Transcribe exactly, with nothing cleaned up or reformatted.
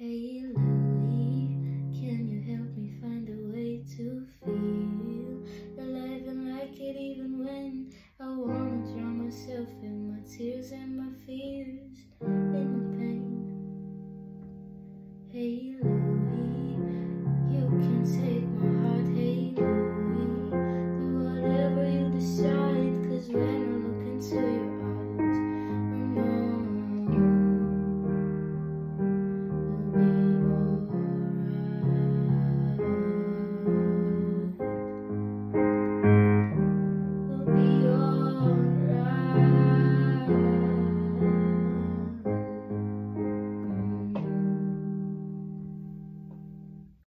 Hey Louie, can you help me find a way to feel alive and like it even when I wanna drown myself in my tears and my fears?